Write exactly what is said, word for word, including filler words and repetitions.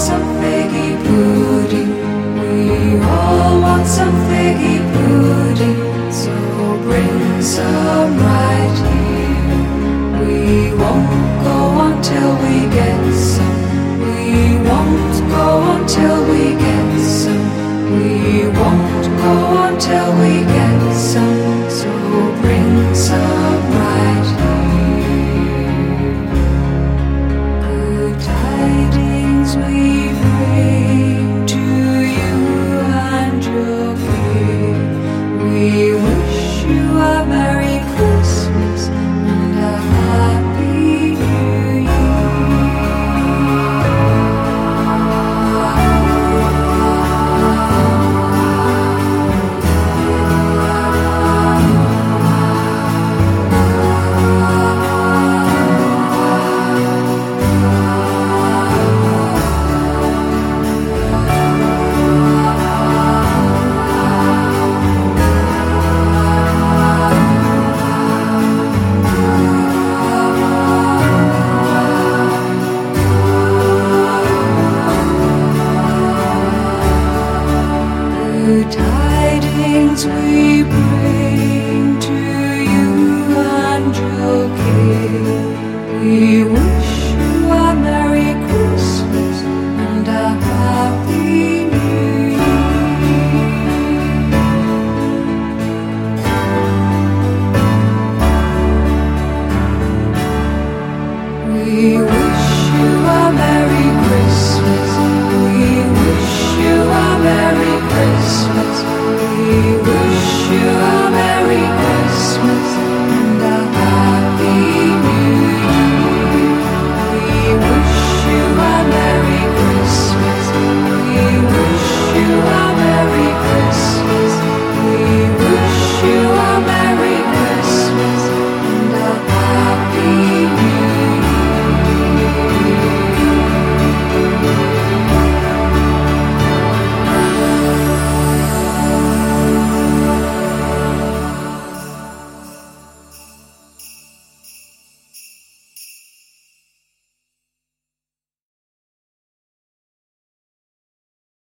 some figgy pudding. We all want some figgy pudding. So bring some right here. We won't go until we get some. We won't go until we get some. We won't go until we get some. So bring some right here. Good tidings we bring to you and your king. We wish you a Merry Christmas and a Happy New Good tidings we bring to you and your king. We wish